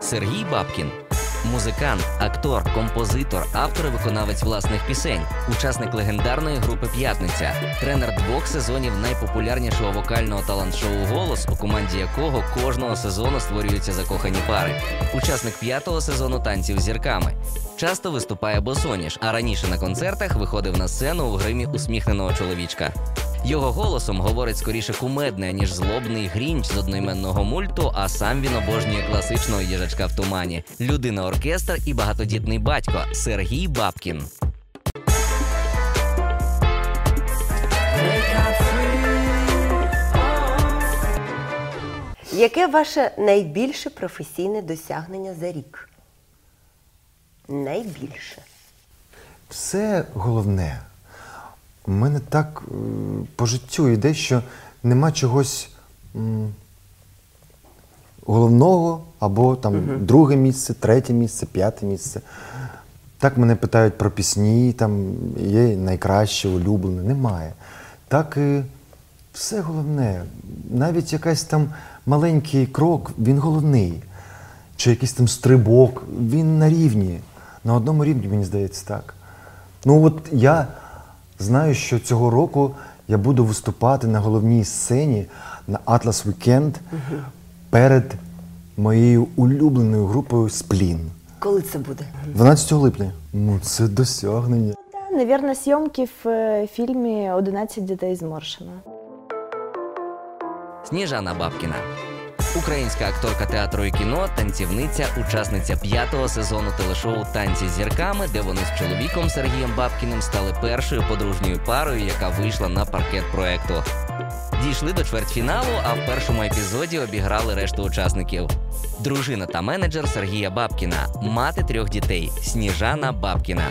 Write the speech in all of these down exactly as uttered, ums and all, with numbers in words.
Сергій Бабкін – музикант, актор, композитор, автор і виконавець власних пісень, учасник легендарної групи «П'ятниця», тренер двох сезонів найпопулярнішого вокального талант-шоу «Голос», у команді якого кожного сезону створюються закохані пари, учасник п'ятого сезону «Танців з зірками». Часто виступає босоніж, а раніше на концертах виходив на сцену у гримі усміхненого чоловічка. Його голосом говорить скоріше кумедне, ніж злобний Грінч з одноіменного мульту, а сам він обожнює класичного їжачка в тумані. Людина-оркестр і багатодітний батько Сергій Бабкін. Яке ваше найбільше професійне досягнення за рік? Найбільше. Все головне. У мене так е, по життю йде, що нема чогось м, головного, або там угу. друге місце, третє місце, п'яте місце. Так мене питають про пісні, там є найкраще, улюблене. Немає. Так і все головне. Навіть якийсь там маленький крок, він головний. Чи якийсь там стрибок, він на рівні. На одному рівні, мені здається, так. Ну от я знаю, що цього року я буду виступати на головній сцені на Atlas Weekend угу. перед моєю улюбленою групою «Сплін». Коли це буде? дванадцятого липня. Ну, це досягнення. Наверное, зйомки в фільмі «одинадцять дітей з Моршина». Сніжана Бабкіна. Українська акторка театру і кіно, танцівниця, учасниця п'ятого сезону телешоу «Танці з зірками», де вони з чоловіком Сергієм Бабкіним стали першою подружньою парою, яка вийшла на паркет проекту. Дійшли до чвертьфіналу, а в першому епізоді обіграли решту учасників. Дружина та менеджер Сергія Бабкіна, мати трьох дітей – Сніжана Бабкіна.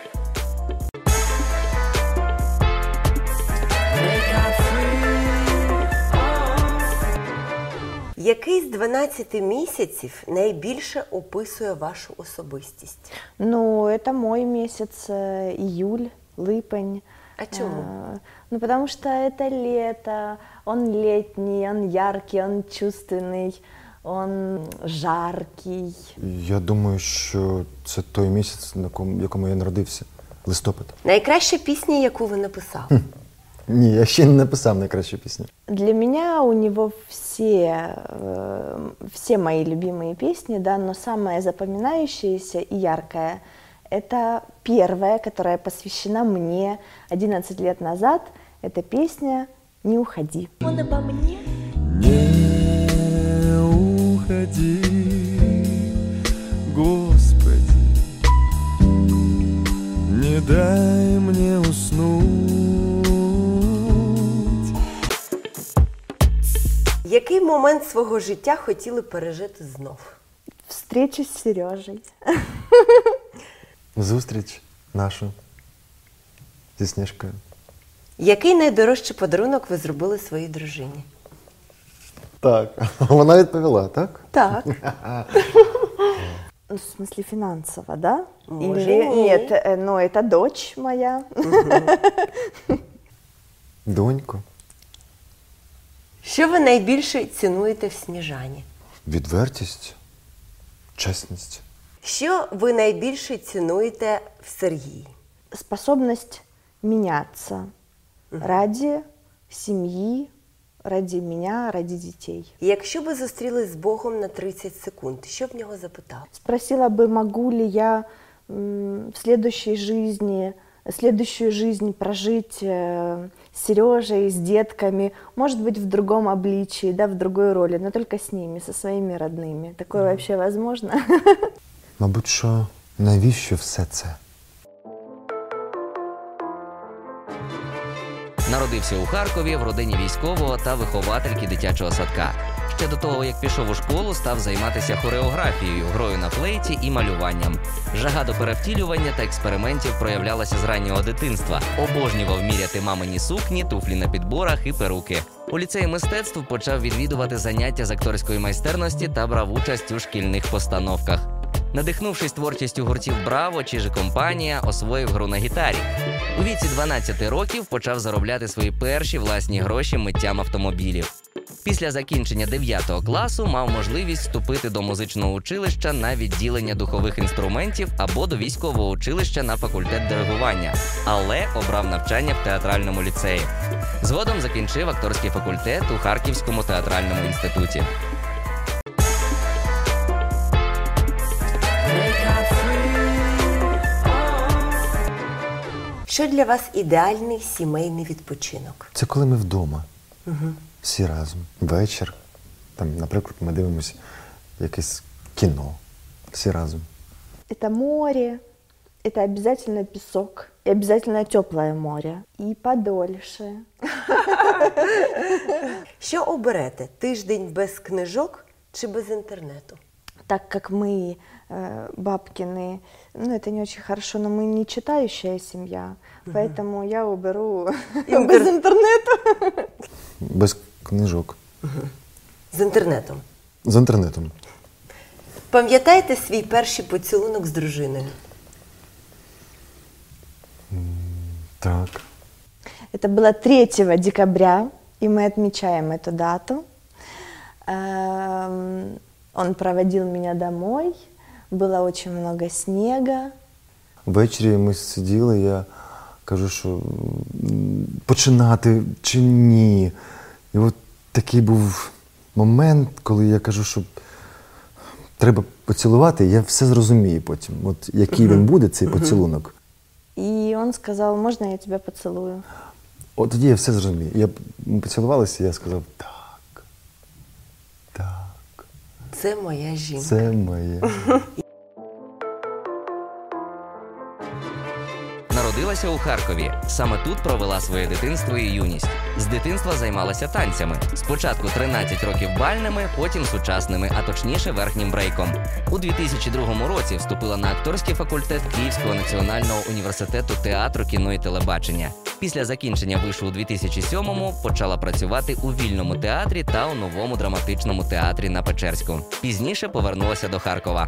Який з дванадцяти місяців найбільше описує вашу особистість? Ну, это мой месяц, июль, липень. А чему? А, ну, потому что это лето, он летний, он яркий, он чувственный, он жаркий. Я думаю, що це той місяць, на кому, якому я народився. Листопад. Найкраща пісня, яку ви написали? Хм. Ні, я ще не написав найкращу пісню. Для меня у него все, э, все мои любимые песни, да, но самая запоминающаяся и яркая – это первая, которая посвящена мне одиннадцать лет назад. Это песня «Не уходи». Он обо мне. Не уходи, Господи, не дай мне уснуть. Який момент свого життя хотіли пережити знов? Встречу з Сережей. Зустріч нашу зі Сніжкою. Який найдорожчий подарунок ви зробили своїй дружині? Так, вона відповіла, так? Так. В смысле финансово, да? Может, Или нет. нет, но это дочь моя. Донько. Що ви найбільше цінуєте в Сніжані? Відвертість, чесність. Що ви найбільше цінуєте в Сергії? Способность меняться ради семьи, ради меня, ради детей. Якщо ви зустрілись з Богом на тридцять секунд, що б нього запитав? Спросила бы, могу ли я м, в следующей жизни, следующую жизнь прожить э, с Сережей, с детками, может быть, в другом обличии, да, в другой роли, но только с ними, со своими родными. Такое mm. вообще возможно? Мабуть, що навіщо все це? Народився у Харкові в родині військового та виховательки дитячого садка. Ще до того, як пішов у школу, став займатися хореографією, грою на флейті і малюванням. Жага до перевтілювання та експериментів проявлялася з раннього дитинства. Обожнював міряти мамині сукні, туфлі на підборах і перуки. У ліцеї мистецтв почав відвідувати заняття з акторської майстерності та брав участь у шкільних постановках. Надихнувшись творчістю гуртів «Браво» чи «Же компанія», освоїв гру на гітарі. У віці дванадцяти років почав заробляти свої перші власні гроші миттям автомобілів. Після закінчення дев'ятого класу мав можливість вступити до музичного училища на відділення духових інструментів або до військового училища на факультет диригування, але обрав навчання в театральному ліцеї. Згодом закінчив акторський факультет у Харківському театральному інституті. Що для вас ідеальний сімейний відпочинок? Це коли ми вдома, угу. всі разом, вечір. Там, наприклад, ми дивимося якесь кіно, всі разом. Это море, это обязательно песок, и обязательно теплое море, и подольше. Що оберете? Тиждень без книжок чи без інтернету? Так как мы, э, Бабкины, ну это не очень хорошо, но мы не читающая семья, угу. поэтому я уберу Интер... без интернета. Без книжок. Угу. З інтернетом? З інтернетом. Пам'ятаєте свій перший поцілунок з дружиною? Так. Это было третьего декабря, и мы отмечаем эту дату. Он проводил меня домой, было очень много снега. Ввечері ми сиділи, я кажу, що починати чи ні. І от такий був момент, коли я кажу, що треба поцілувати, я все зрозумію потім, от який він буде, цей поцілунок. І він сказав, можна я тебе поцілую? От тоді я все зрозумію. Я, ми поцілувалися, і я сказав, так, так. Це моя жінка. Це моя. Народилася у Харкові. Саме тут провела своє дитинство і юність. З дитинства займалася танцями. Спочатку тринадцять років бальними, потім сучасними, а точніше верхнім брейком. У дві тисячі другому році вступила на акторський факультет Київського національного університету театру, кіно і телебачення. Після закінчення вишу у дві тисячі сьомому почала працювати у Вільному театрі та у Новому драматичному театрі на Печерську. Пізніше повернулася до Харкова.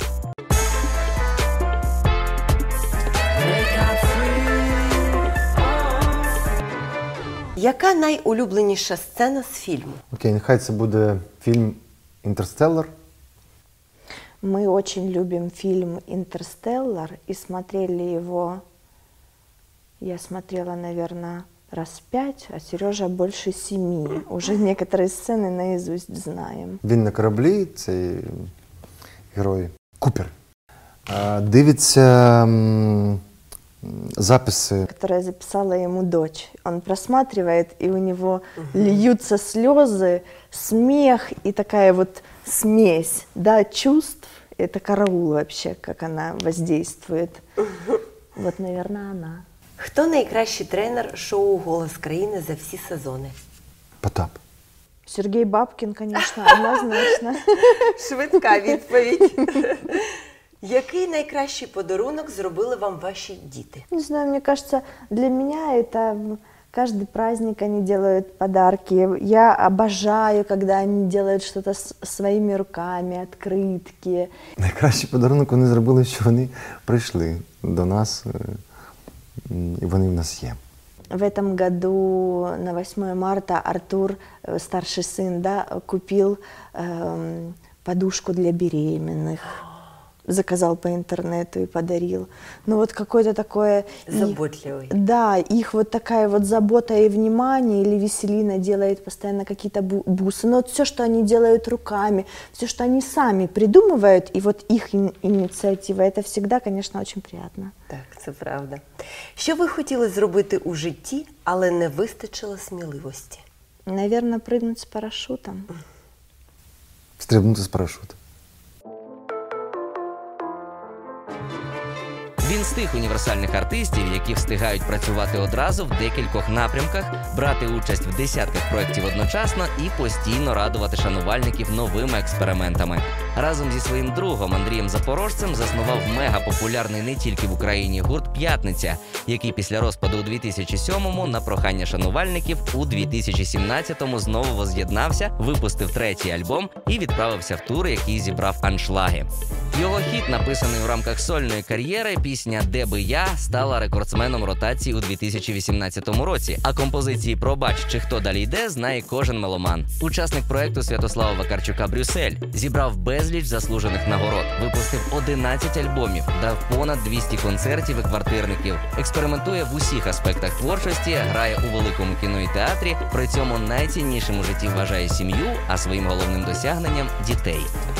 Яка найулюбленіша сцена з фільму? Окей, нехай це буде фільм «Інтерстеллар». Мы очень любим фильм «Интерстеллар» и смотрели его, я смотрела, наверное, раз пять, а Сережа больше семи. Уже некоторые сцены наизусть знаем. Він на кораблі, цей герой Купер. Дивиться записи, которые записала ему дочь. Он просматривает, и у него льются слезы, смех и такая вот смесь, да, чувств. Это караул вообще, как она воздействует. Вот, наверное, она. Хто найкращий тренер шоу «Голос країни» за всі сезони? Потап. Сергей Бабкин, конечно, однозначно. Швидка відповідь. Який найкращий подарунок зробили вам ваші діти? Не знаю, мне кажется, для меня это каждый праздник они делают подарки. Я обожаю, когда они делают что-то своими руками, открытки. Найкращий подарунок вони зробили, що вони прийшли до нас, і вони в нас є. В этом году на восьмое марта Артур, старший сын, да, купил э, подушку для беременных. Заказал по интернету и подарил. Ну вот какое-то такое... Заботливый. Их, да, их вот такая вот забота и внимание, или Веселина делает постоянно какие-то бусы. Но вот все, что они делают руками, все, что они сами придумывают, и вот их инициатива, это всегда, конечно, очень приятно. Так, це правда. Що ви хотіли зробити у житті, але не вистачило сміливості? Наверное, прыгнуть с парашютом. Стрибнути з парашуту. Він з тих універсальних артистів, які встигають працювати одразу в декількох напрямках, брати участь в десятках проєктів одночасно і постійно радувати шанувальників новими експериментами. Разом зі своїм другом Андрієм Запорожцем заснував мегапопулярний не тільки в Україні гурт «П'ятниця», який після розпаду у дві тисячі сьомому на прохання шанувальників у дві тисячі сімнадцятому знову воз'єднався, випустив третій альбом і відправився в тур, який зібрав аншлаги. Його хіт, написаний у рамках сольної кар'єри, пісня «Де би я» стала рекордсменом ротації у дві тисячі вісімнадцятому році, а композиції «Пробач» чи «Хто далі йде» знає кожен меломан. Учасник проекту Святослава Вакарчука «Брюссель» зібрав безліч заслужених нагород, випустив одинадцять альбомів, дав понад двісті концертів і квартирників, експериментує в усіх аспектах творчості, грає у великому кіно і театрі, при цьому найціннішим у житті вважає сім'ю, а своїм головним досягненням – дітей.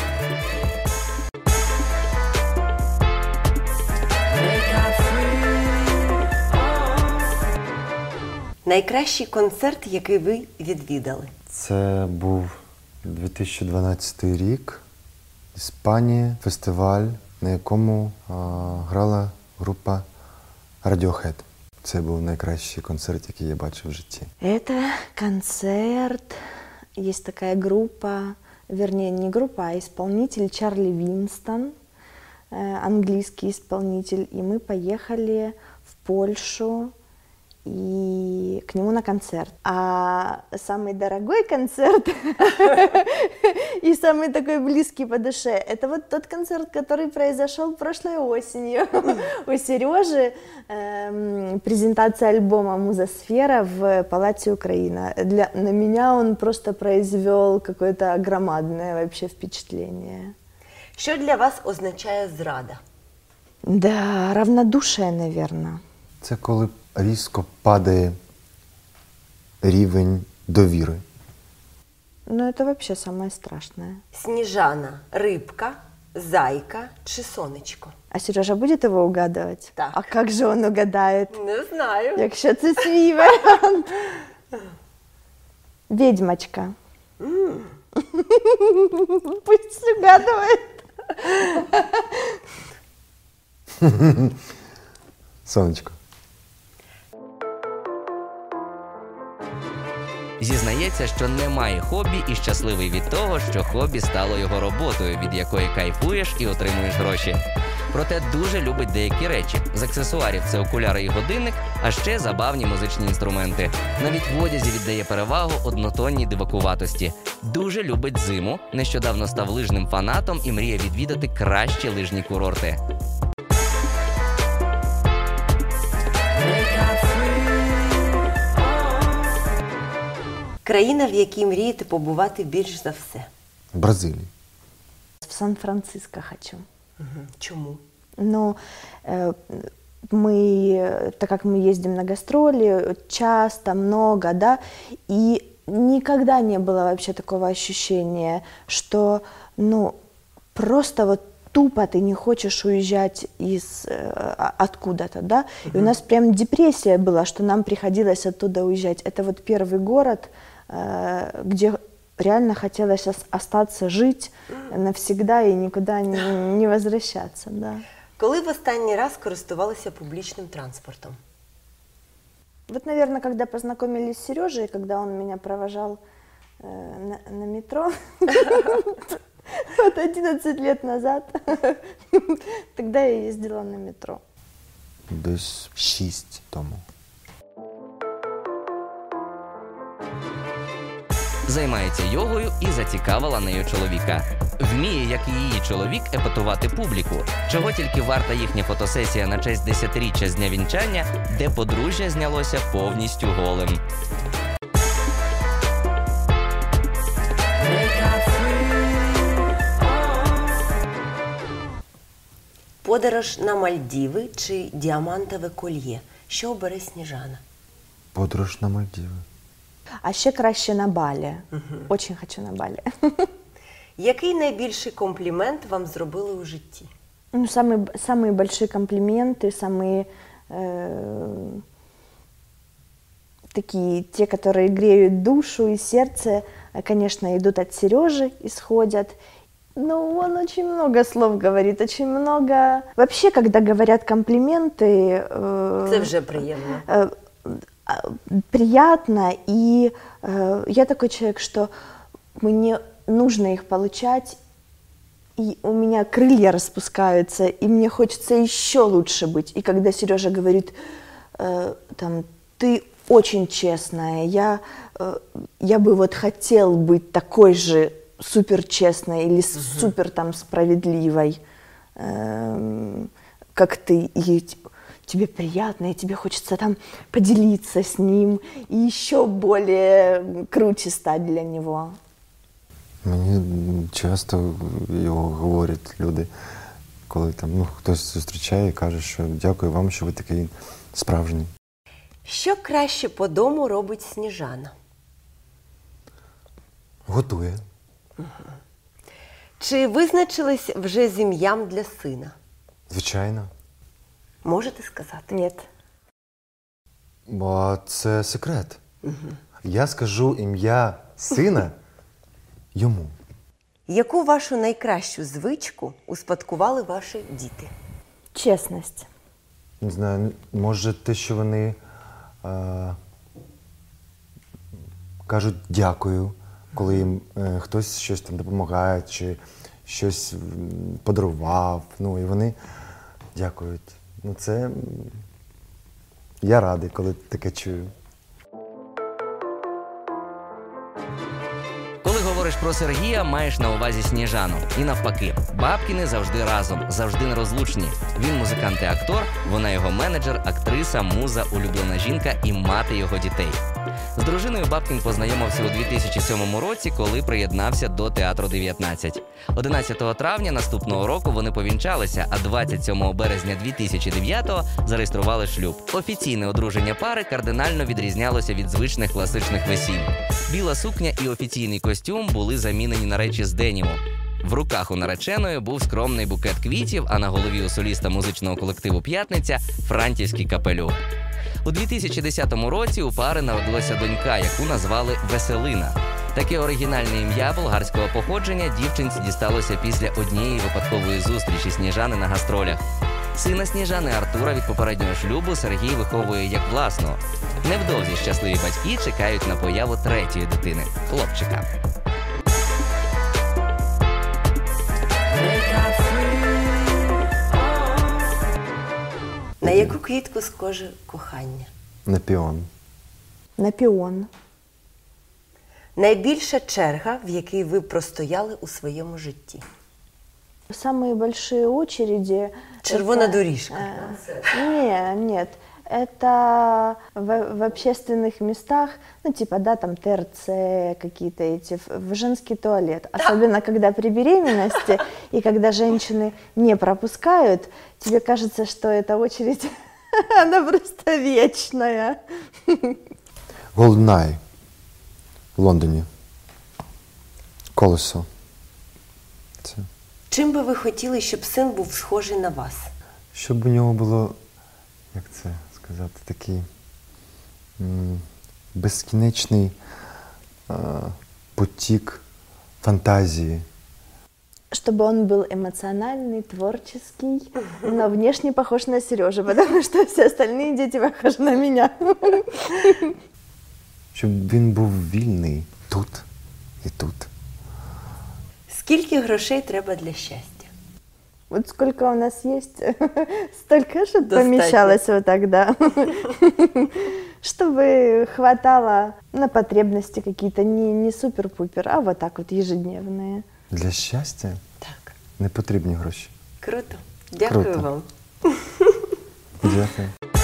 Найкращий концерт, який ви відвідали? Це був дві тисячі дванадцятий рік, Іспанія, фестиваль, на якому а, грала група Radiohead. Це був найкращий концерт, який я бачив в житті. Это концерт, есть такая группа, вернее не группа, а исполнитель Чарли Винстон, э, английский исполнитель, и мы поехали в Польшу и к нему на концерт. А самый дорогой концерт и самый такой близкий по душе — это вот тот концерт, который произошел прошлой осенью у Сережи. Эм, презентация альбома «Музосфера» в Палате Украина. Для, на меня он просто произвел какое-то громадное вообще впечатление. Що для вас означає зрада? Да, равнодушие, наверное. Це коли різко падає рівень довіри. Ну, это вообще самое страшное. Сніжана, рибка, зайка чи сонечко? А Сережа будет его угадывать? Так. А как же он угадает? Не знаю. Якщо це свій варіант. Ведьмочка. Пусть угадывает. Сонечко. Зізнається, що немає хобі і щасливий від того, що хобі стало його роботою, від якої кайфуєш і отримуєш гроші. Проте дуже любить деякі речі. З аксесуарів – це окуляри і годинник, а ще забавні музичні інструменти. Навіть в одязі віддає перевагу однотонній дивакуватості. Дуже любить зиму, нещодавно став лижним фанатом і мріє відвідати кращі лижні курорти. Країна, в якій мрієте побувати більш за все? В Бразилії. В Сан-Франциско хочу. Угу. Чому? Ну, э, мы, так как мы ездим на гастроли часто, много, да, и никогда не было вообще такого ощущения, что, ну, просто вот тупо ты не хочешь уезжать из э, откуда-то, да, и у нас прям депрессия была, что нам приходилось оттуда уезжать. Это вот первый город, э, где реально хотелось остаться, жить навсегда и никуда не, не возвращаться, да. Коли в останній раз користувалися публічним транспортом? Вот, наверное, когда познакомились с Сережей, когда он меня провожал э, на, на метро, вот одиннадцать лет назад, тогда я ездила на метро. Десь шість тому. Займається йогою і зацікавила нею чоловіка. Вміє, як і її чоловік, епатувати публіку. Чого тільки варта їхня фотосесія на честь десятиріччя з дня вінчання, де подружжя знялося повністю голим. Подорож на Мальдіви чи діамантове кольє? Що обере Сніжана? Подорож на Мальдіви. А ще краще на Балі. Очень хочу на Балі. Який найбільший комплімент вам зробили у житті? Ну, самые, самые большие комплименты, самые э, такие, те, которые греют душу и сердце, конечно, идут от Сережи, исходят. Ну, он очень много слов говорит, очень много. Вообще, когда говорят комплименты... Э, Це вже приємно. Э, приятно, и э, я такой человек, что мне нужно их получать и у меня крылья распускаются, и мне хочется еще лучше быть. И когда Сережа говорит, э, там, ты очень честная, я, э, я бы вот хотел быть такой же супер честной или угу. супер там справедливой, э, как ты, и тебе приятно, и тебе хочется там поделиться с ним, и еще более круче стать для него. Мені часто його говорять люди, коли там ну, хтось зустрічає і каже, що дякую вам, що ви такий справжній. Що краще по дому робить Сніжана? Готує. Угу. Чи визначились вже з ім'ям для сина? Звичайно. Можете сказати? Ні. Бо це секрет. Угу. Я скажу ім'я сина йому. Яку вашу найкращу звичку успадкували ваші діти? Чесність. Не знаю, може те, що вони е, кажуть дякую, коли їм е, хтось щось там допомагає, чи щось подарував, ну і вони дякують. Ну це, я радий, коли таке чую. Коли говориш про Сергія, маєш на увазі Сніжану. І навпаки, Бабкіни завжди разом, завжди нерозлучні. Він музикант і актор, вона його менеджер, актриса, муза, улюблена жінка і мати його дітей. З дружиною Бабкін познайомився у дві тисячі сьомому році, коли приєднався до Театру дев'ятнадцять. одинадцятого травня наступного року вони повінчалися, а двадцять сьомого березня дві тисячі дев'ятого зареєстрували шлюб. Офіційне одруження пари кардинально відрізнялося від звичних класичних весіль. Біла сукня і офіційний костюм були замінені на речі з деніму. В руках у нареченої був скромний букет квітів, а на голові у соліста музичного колективу «П'ятниця» – франтівський капелюх. У дві тисячі десятому році у пари народилася донька, яку назвали Веселина. Таке оригінальне ім'я болгарського походження дівчинці дісталося після однієї випадкової зустрічі Сніжани на гастролях. Сина Сніжани Артура від попереднього шлюбу Сергій виховує як власного. Невдовзі щасливі батьки чекають на появу третьої дитини – хлопчика. На яку квітку схоже кохання? На піон. На піон. Найбільша черга, в якій ви простояли у своєму житті? Самые большие очереди... Червона это, доріжка. Э, не, нет. Это в, в общественных местах, ну, типа, да, там, ТРЦ какие-то эти, в, в женский туалет. Особенно, когда при беременности, и когда женщины не пропускают, тебе кажется, что эта очередь, она просто вечная. Golden Eye в Лондоні. Колесо. Це. Чим би ви хотіли, щоб син був схожий на вас? Щоб у нього було, як це сказати, такий м, безкінечний е, потік фантазії. Чтобы он был эмоциональный, творческий, но внешне похож на Сережу, потому что все остальные дети похожи на меня. Щоб він був вільний тут і тут. Скільки грошей треба для щастя? Вот сколько у нас есть, столько, чтобы Достаточно. помещалось вот так, да. Чтобы хватало на потребности какие-то, не, не супер-пупер, а вот так вот ежедневные. Для щастя Так. не потрібні гроші. Круто. Дякую Круто. вам. Дякую.